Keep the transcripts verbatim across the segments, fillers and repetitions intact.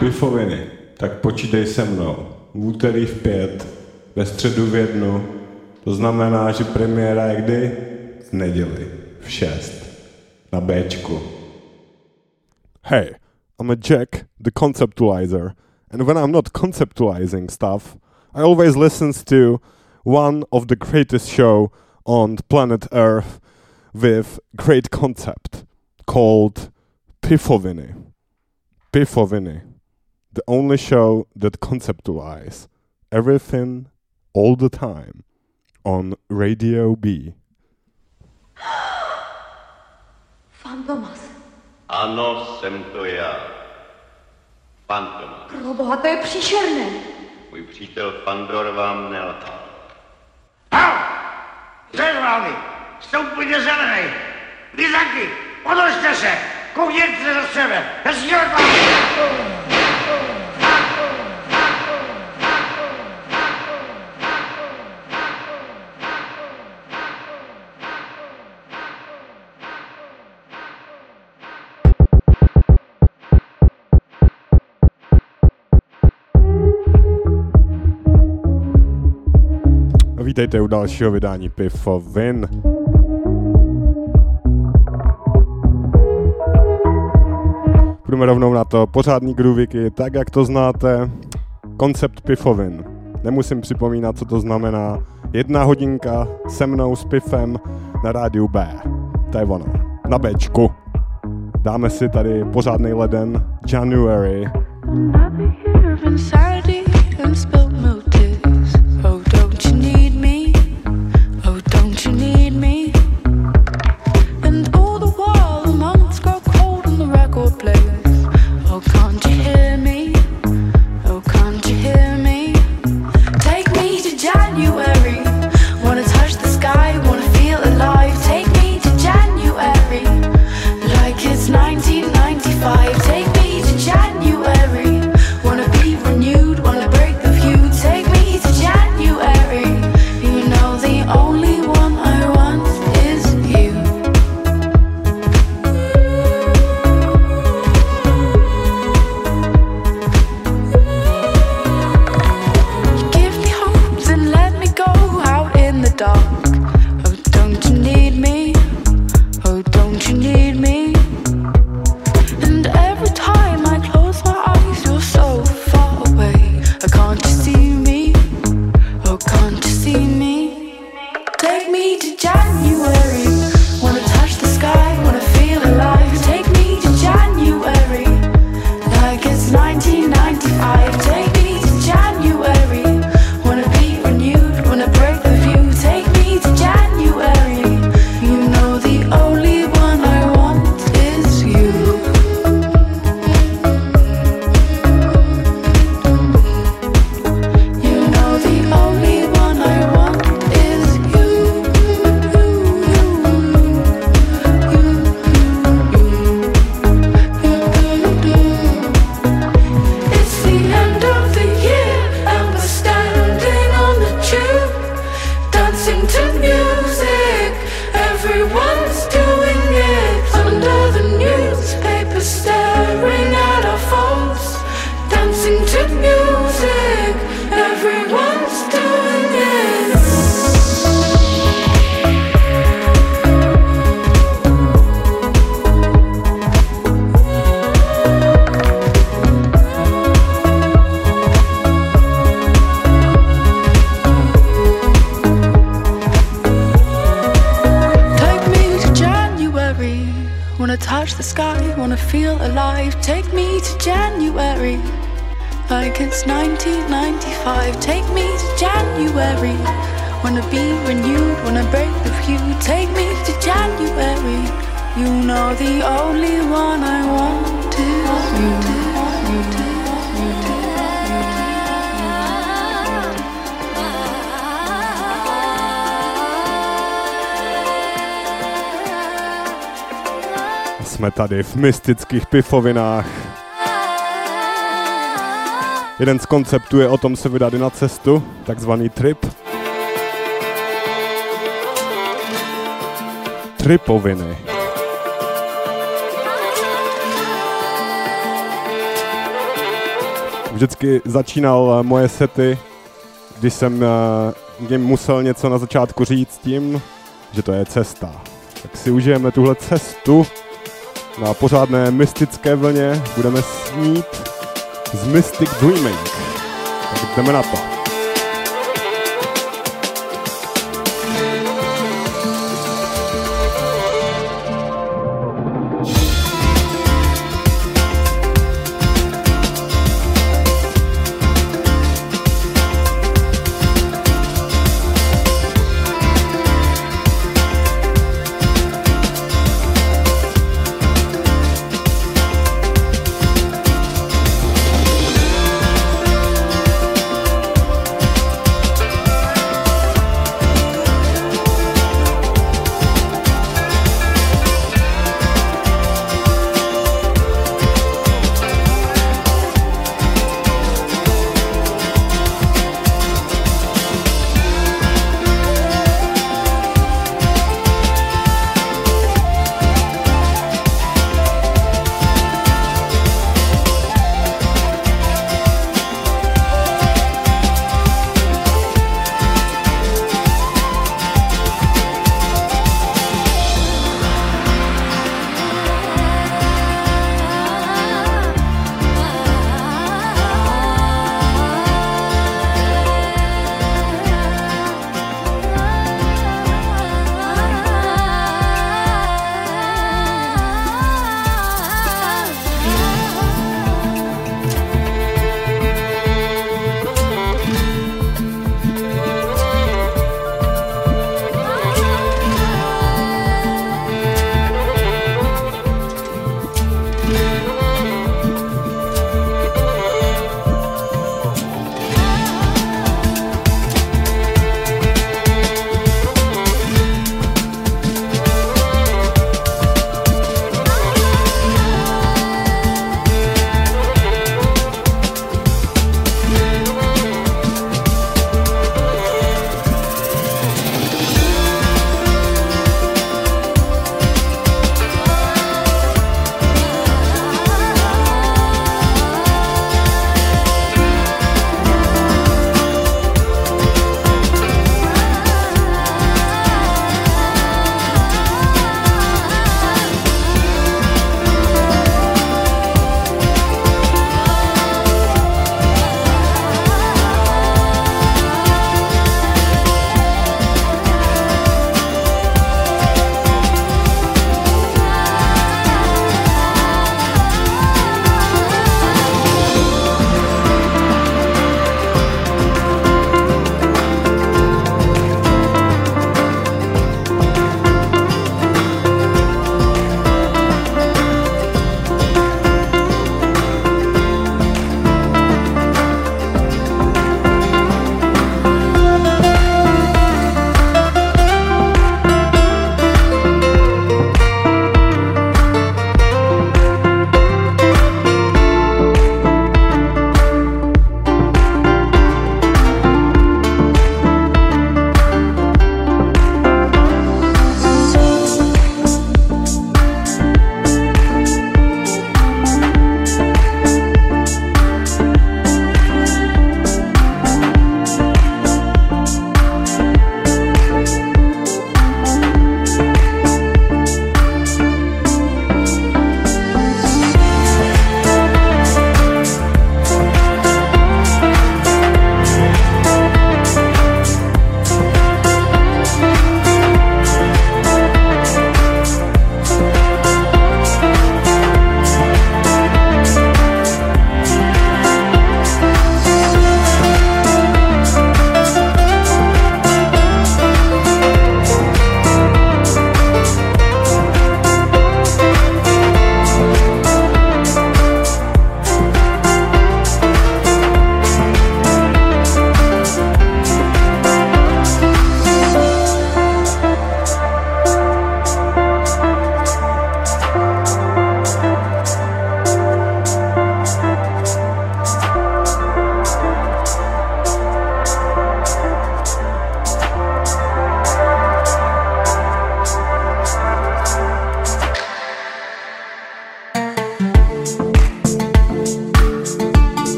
Pifoviny, tak počítej se mnou. V úterý v pět, ve středu v jednu, to znamená, že premiéra je kdy? V neděli, v šest, na Bčku. Hey, I'm a Jack, the conceptualizer, and when I'm not conceptualizing stuff, I always listen to one of the greatest show on planet Earth with great concept called Pifoviny. Pifoviny, the only show that conceptualize everything all the time on Radio B. Fantomas. Ano, jsem to já. Fantomas. Proboha, to je příšerné. Můj přítel Pandor vám nelhal. Hau! Zajválny! Stoupujte za mnej! Lizaky! Odložte se! Koukněte za sebe! Hezký odváží! Vítejte u dalšího vydání Pifovin. Půjdeme rovnou na to. Pořádný groovíky, tak jak to znáte. Koncept Pifovin. Nemusím připomínat, co to znamená. Jedna hodinka se mnou s Pifem na rádiu B. To je ono. Na Bčku. Dáme si tady pořádný leden. January. Jsme tady v mystických pifovinách. Jeden z konceptů je o tom se vydat na cestu, takzvaný trip. Tripoviny. vždycky začínal moje sety, když jsem jim musel něco na začátku říct tím, že to je cesta. Tak si užijeme tuhle cestu na pořádné mystické vlně, budeme snít z Mystic Dreaming. Tak jdeme na to.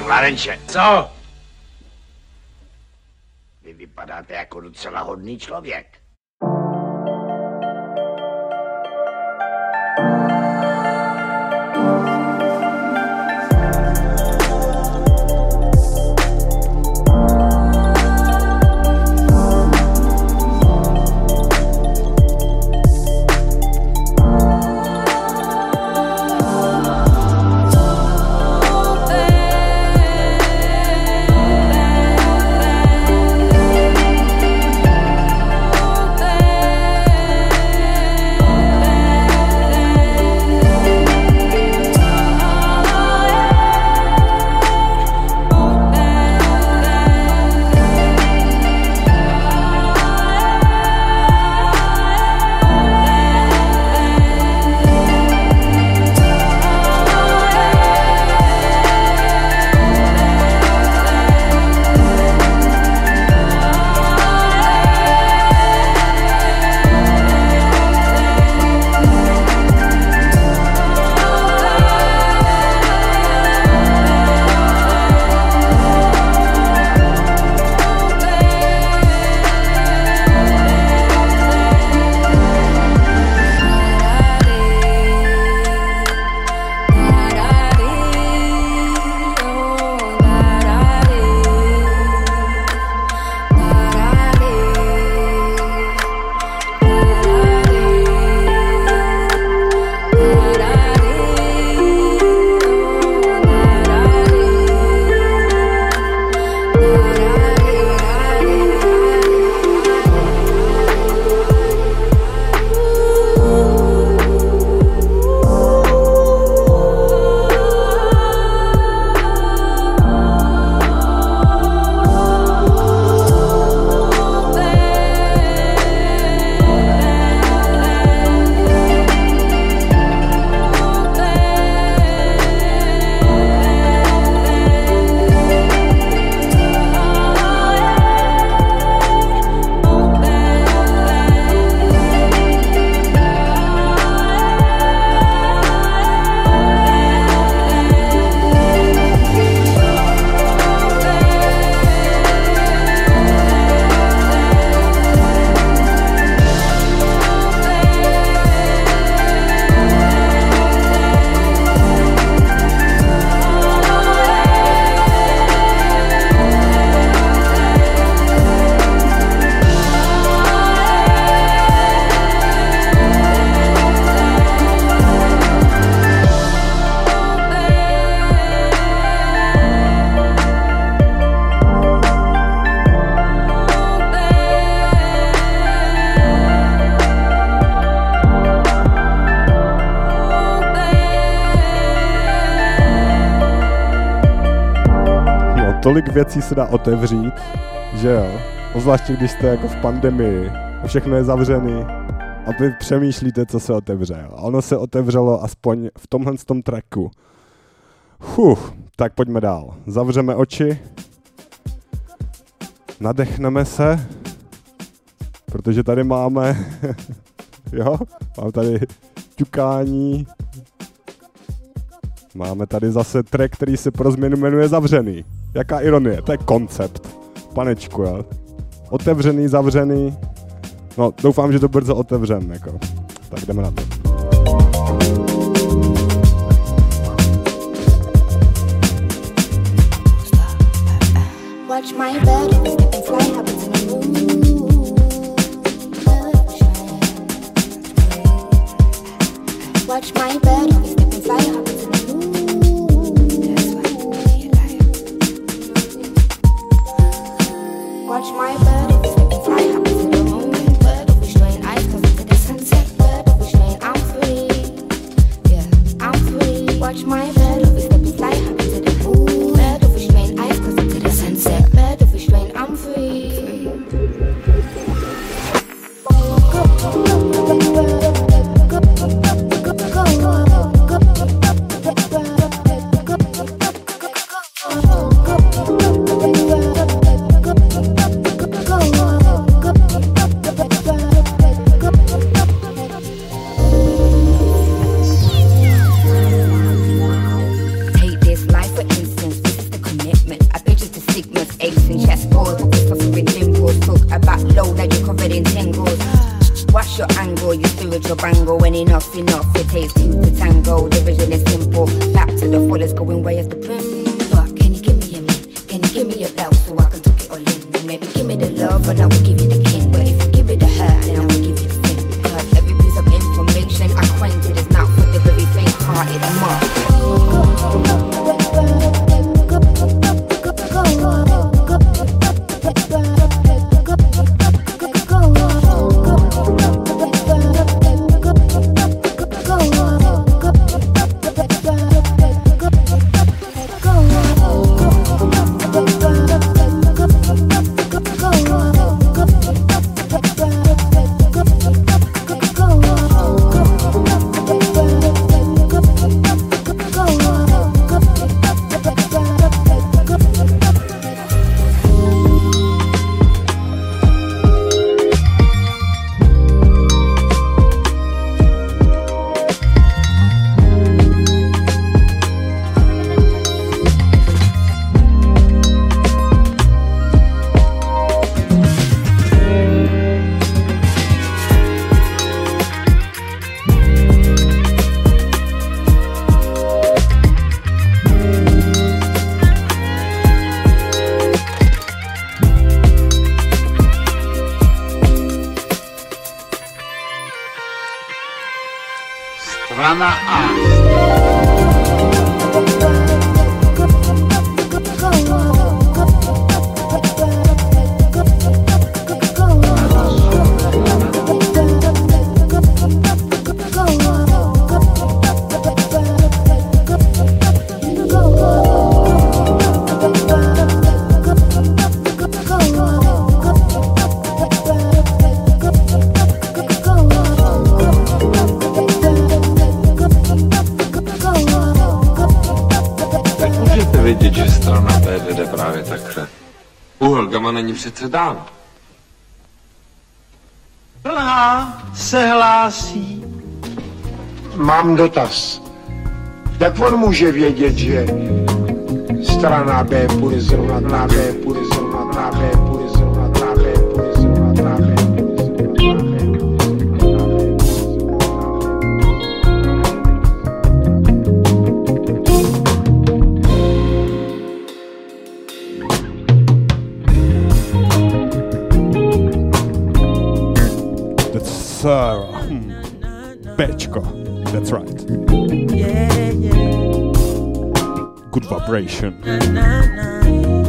Klarenče, co? Vy vypadáte jako docela hodný člověk. tolik věcí se dá otevřít, že jo. Obzvláště když jste jako v pandemii a všechno je zavřený a vy přemýšlíte, co se otevře. A ono se otevřelo aspoň v tomhle tom tracku. Fuh, tak pojďme dál. Zavřeme oči, nadechneme se, protože tady máme, jo, mám tady ťukání, máme tady zase track, který se pro změnu jmenuje Zavřený. Jaká ironie, to je koncept, panečku, jo. Otevřený, zavřený, no doufám, že to brzo otevřem, jako. Tak jdeme na to. Watch my bed, and fly habits in the moon. Watch my bed, and fly habits in the moon. That's why you lie. Watch my bed, and fly habits in the moon. Bird of showing eyes covered to the sunset. Bird of showing I'm free. Yeah, I'm free. Watch my bed, and fly habits in the moon. Bird of showing eyes covered to the sunset. I'm free. Go, go, go, go, go, go, go, go, go. a back low, now you're covered in tingles. What's your angle, your spiritual bangle? When enough's enough, it takes two to tango. The vision is simple, back to the fullest, going way as the brim. But can you give me a minute? Can you give me a bell so I can tuck it all in? Maybe give me the love and I will give you the king. But if you give me the hurt, then I will give you the thing. Cause every piece of information I acquainted is not for the very faint-hearted mark. Strana A. Vidět, že strana B vede právě takhle. U Helgama není přece dál. Plná se hlásí. Mám dotaz. Jak on může vědět, že strana B půjde zrovna na B, půjde zrovna na B, půjde zrovna na B, půjde zrovna na B? Sarah. Hmm. Bečko. That's right. Yeah, yeah. Good vibration. Na, na, na.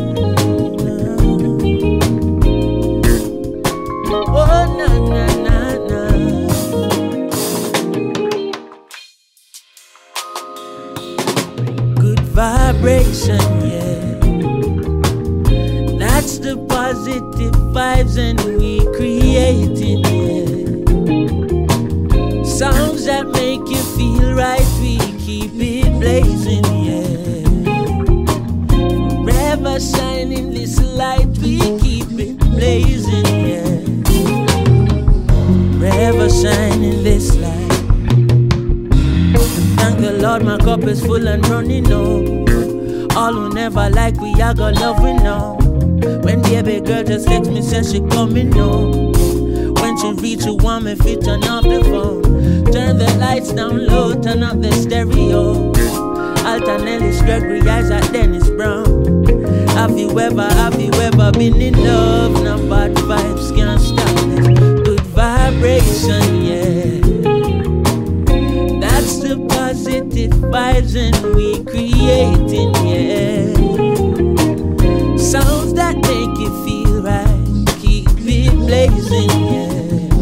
Oh, na, na, na, na. Good vibration, yeah. That's the positive vibes and we creating, yeah. Songs that make you feel right, we keep it blazing, yeah. Forever shining this light, we keep it blazing, yeah. Forever shining this light. Thank the Lord, my cup is full and running over. All who never like we, I got love we know. When baby girl just text me, says she coming home. When she reach you want me fit turn off the phone. Turn the lights down low, turn up the stereo. Altanellis, Gregory, Isaac, Dennis Brown. Have you ever, have you ever been in love? Now bad vibes can't stop this. Good vibration, yeah. That's the positive vibes and we creating, yeah. Sounds that make you feel right, keep it blazing, yeah.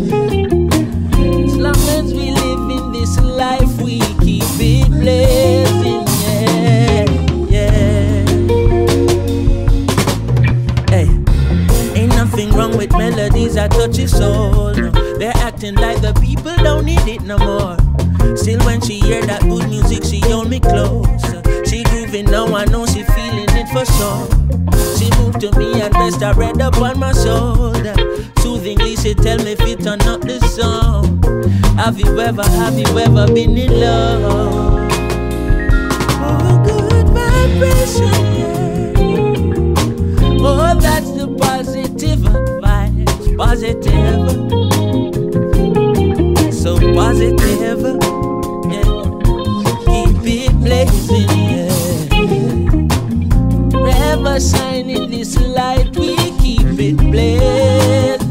As long as we live in this life, we keep it blazing, yeah, yeah. Hey, ain't nothing wrong with melodies that touch your soul, no. They're acting like the people don't need it no more. Still when she hear that good music, she hold me close. She grooving now, I know she feeling it for sure. She moved to me and rest her head up on my shoulder. Soothingly she tell me if you turn up the song. Have you ever, have you ever been in love? Oh, good vibration, yeah. Oh, that's the positive vibe. ever shining this light, we keep it blazing.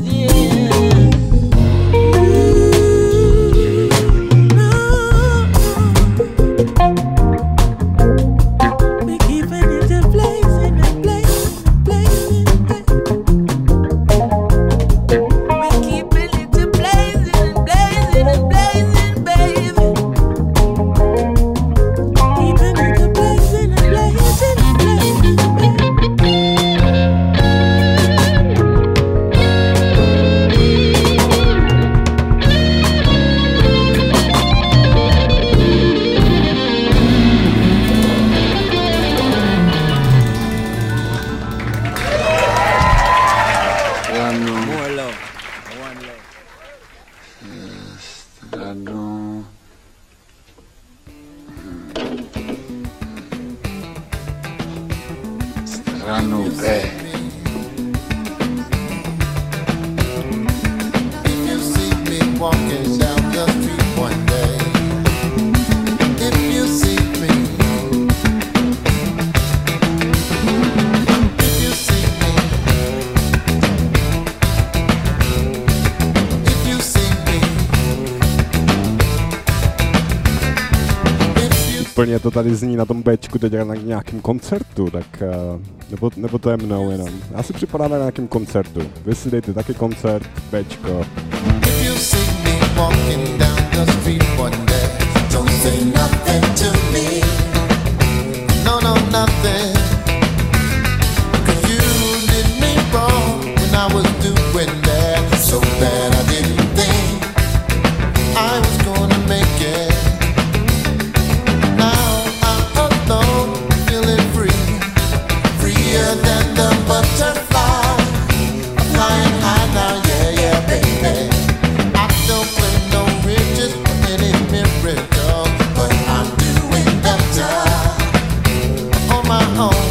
Úplně to tady zní na tom Bčku teď na nějakém koncertu, tak uh, nebo, nebo to je mnou jenom. Já si připadám na nějakém koncertu. Vy si dejte taky koncert, Bčko. Oh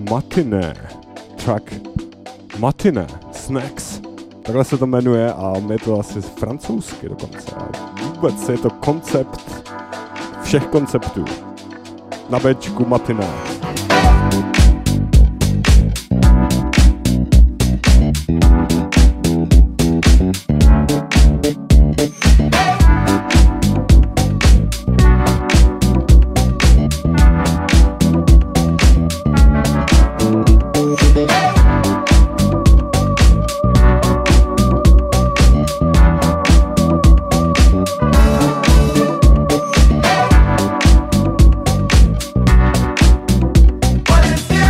Matiné. Track Matiné. Snacks. Takhle se to jmenuje a je to asi francouzsky dokonce. A vůbec je to koncept všech konceptů. Na Bčku Matiné. What is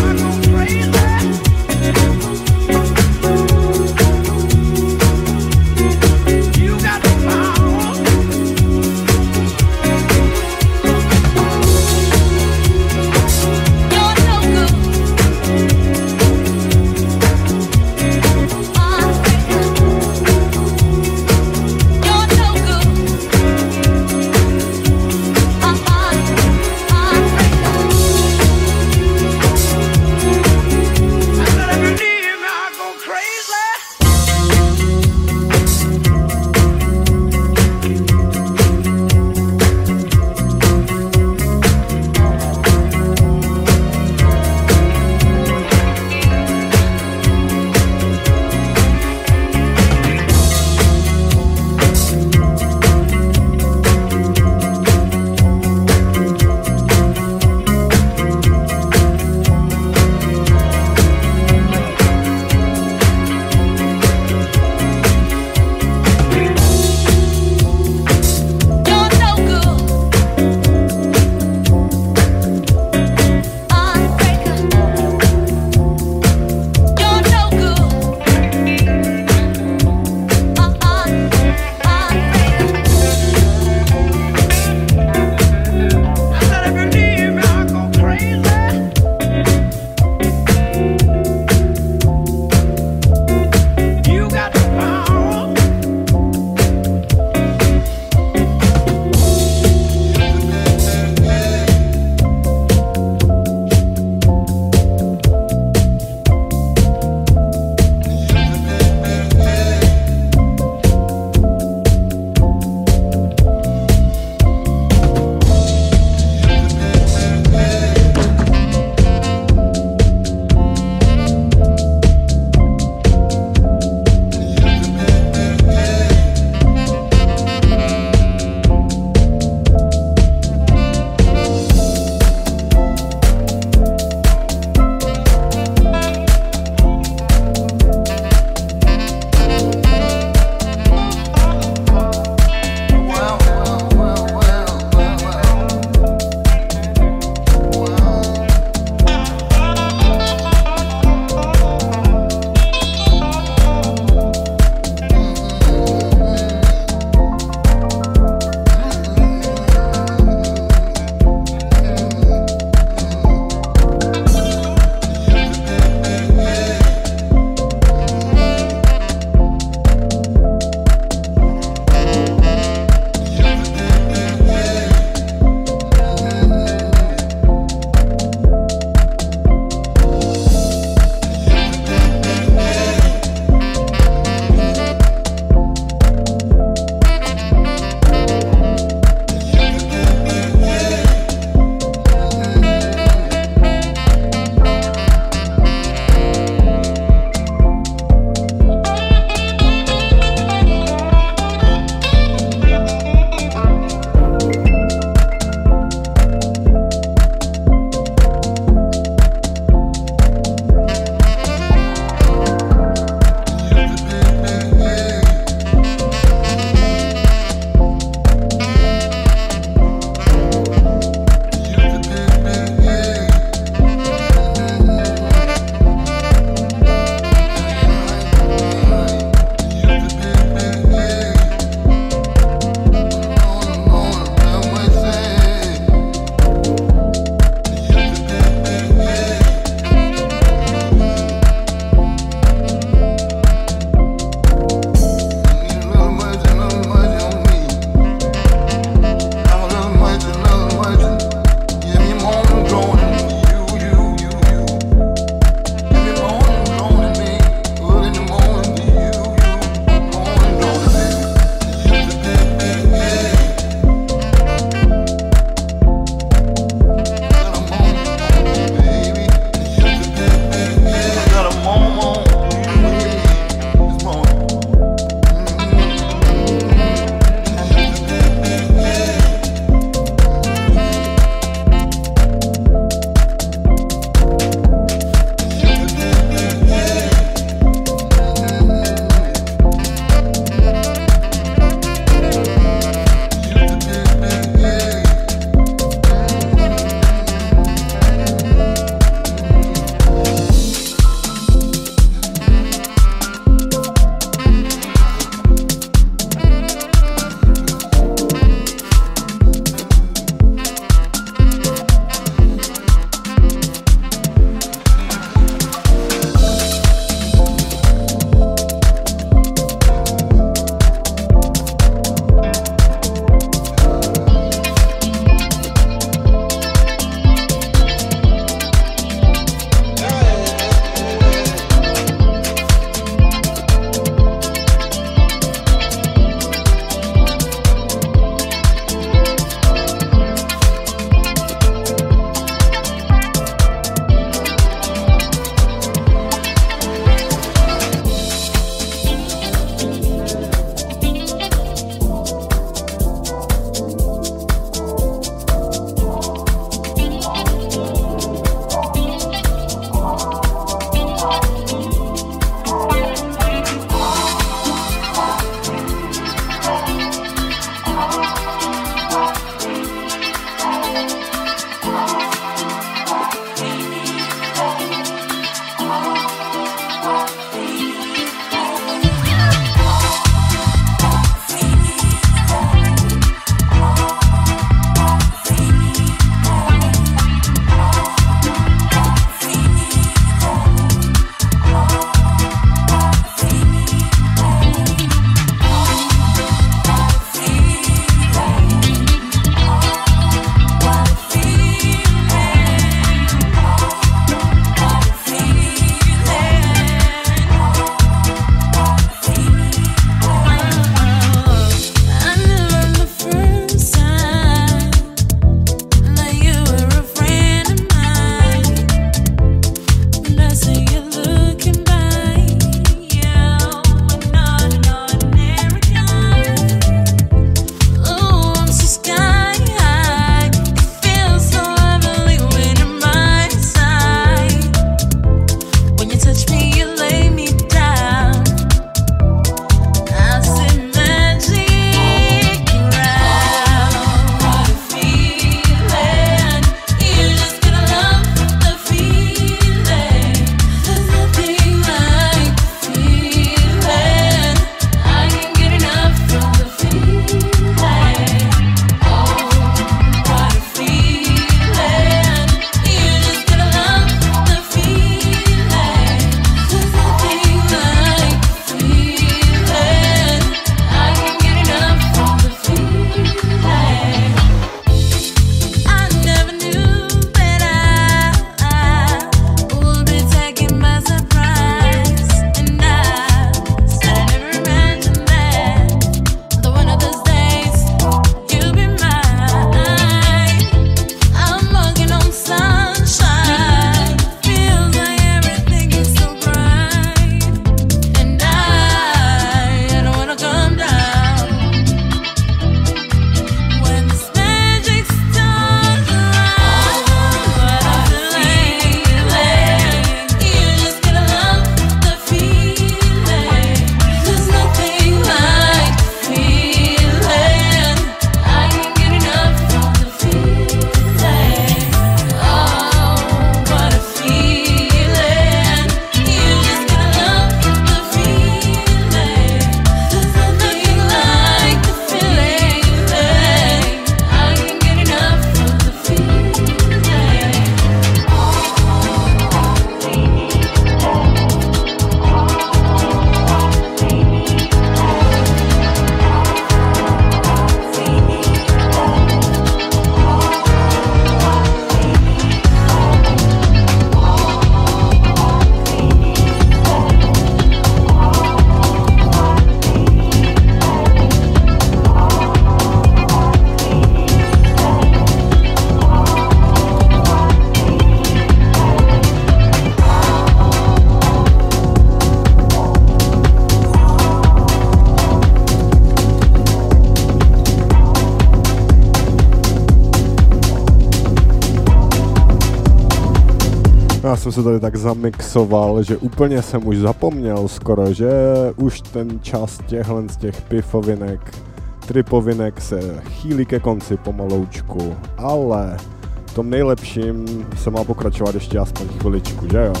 Já jsem se tady tak zamixoval, že úplně jsem už zapomněl skoro, že už ten čas těchhle z těch pifovinek, tripovinek se chýlí ke konci pomaloučku, ale v tom nejlepším se má pokračovat ještě aspoň chviličku, že jo?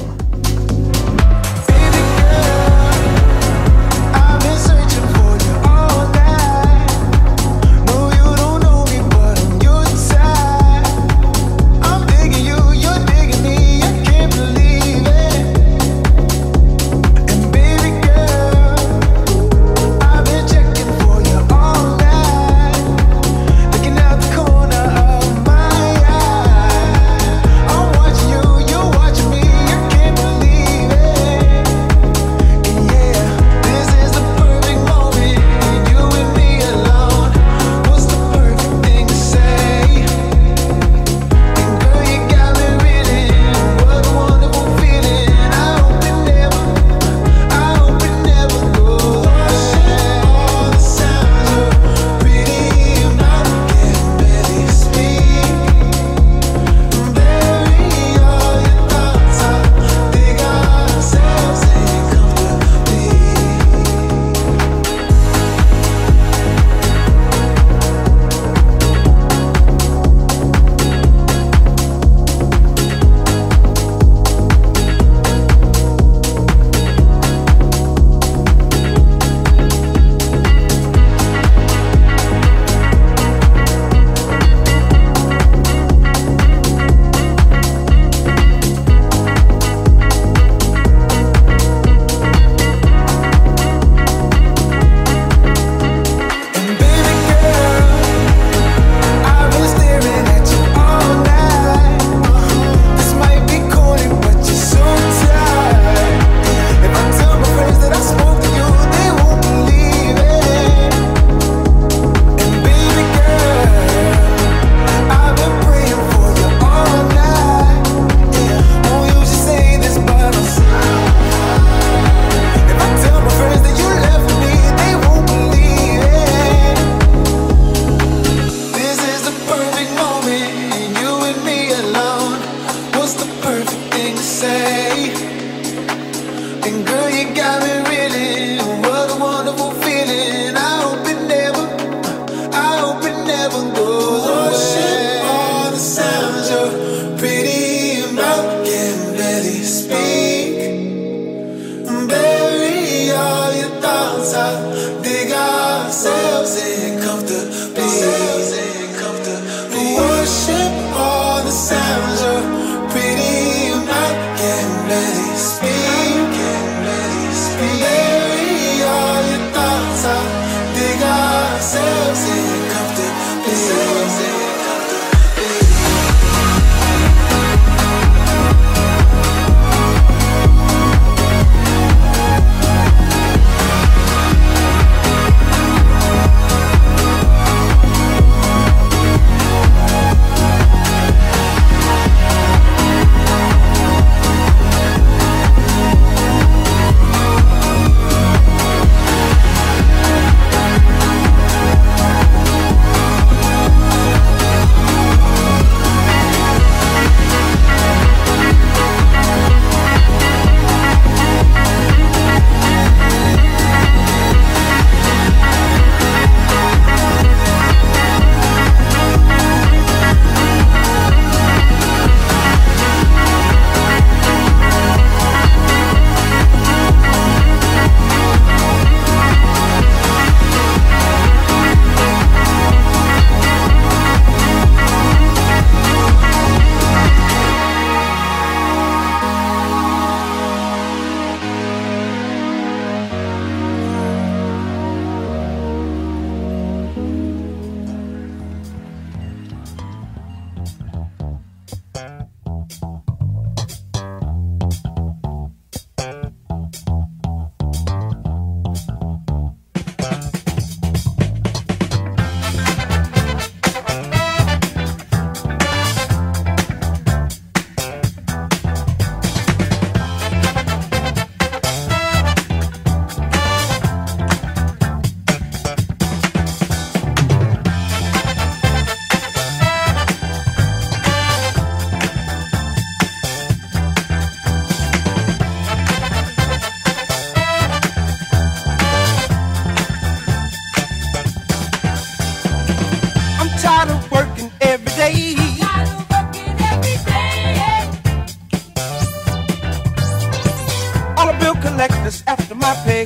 Bury all your thoughts out, dig ourselves in comfortably. my pay.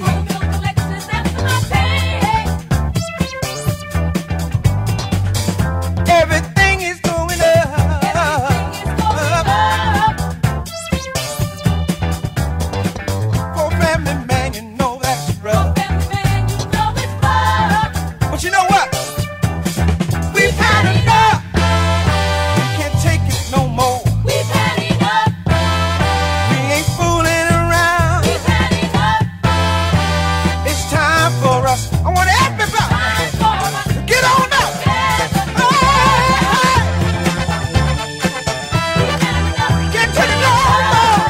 Everything is going up. For family man, you know that's rough. But you know what? We've had enough. We can't take it no more. We've had enough. We ain't fooling around. We've had enough. It's time for us. I want everybody to get on up. Get to the door.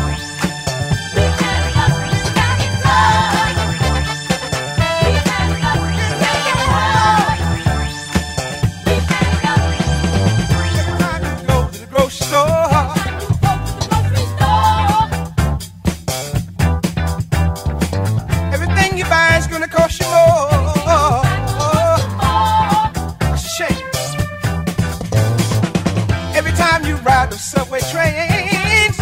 Every time you go to the grocery store, everything you buy is gonna cost you more. It's a shame. Every time you ride the subway trains,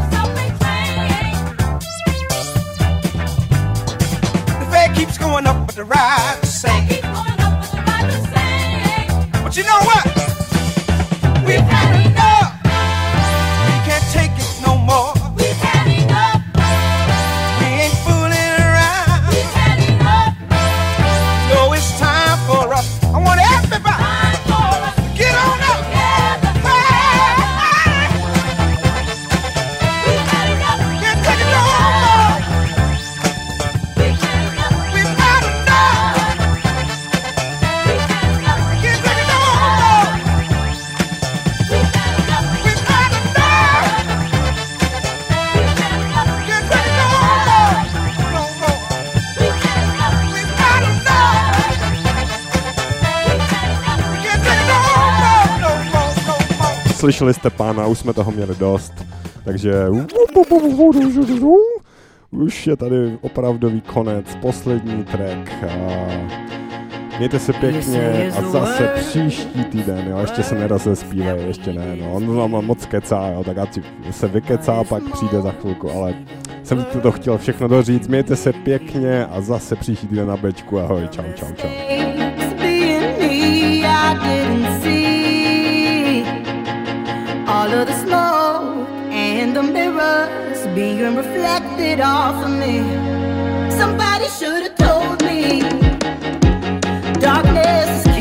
the fare keeps going up, but the ride the same. But you know what? We've had enough. We can't take it no more. We've had enough. We ain't fooling around. We've had enough. No, it's time for us. I want everybody to get on up. Hey, we've had enough. Can't take it no more. We've had enough. We've had enough. Can't take it no more. We've had enough. We've had enough. Can't take it no more. No more. We've had enough. We've had enough. Can't take it no more. No more. No more. Slyšeli jste pána, už jsme toho měli dost, takže už je tady opravdový konec, poslední track. A mějte se pěkně a zase příští týden, jo, ještě se nerozespívej, ještě ne, no, on vám moc kecá, jo, tak ať se vykecá, pak přijde za chvilku, ale jsem to chtěl všechno doříct, mějte se pěkně a zase příští týden na bečku, ahoj, čau, čau, čau. Being me, I didn't see all of the smoke and the mirrors being reflected off of me. Somebody should have told me darkness is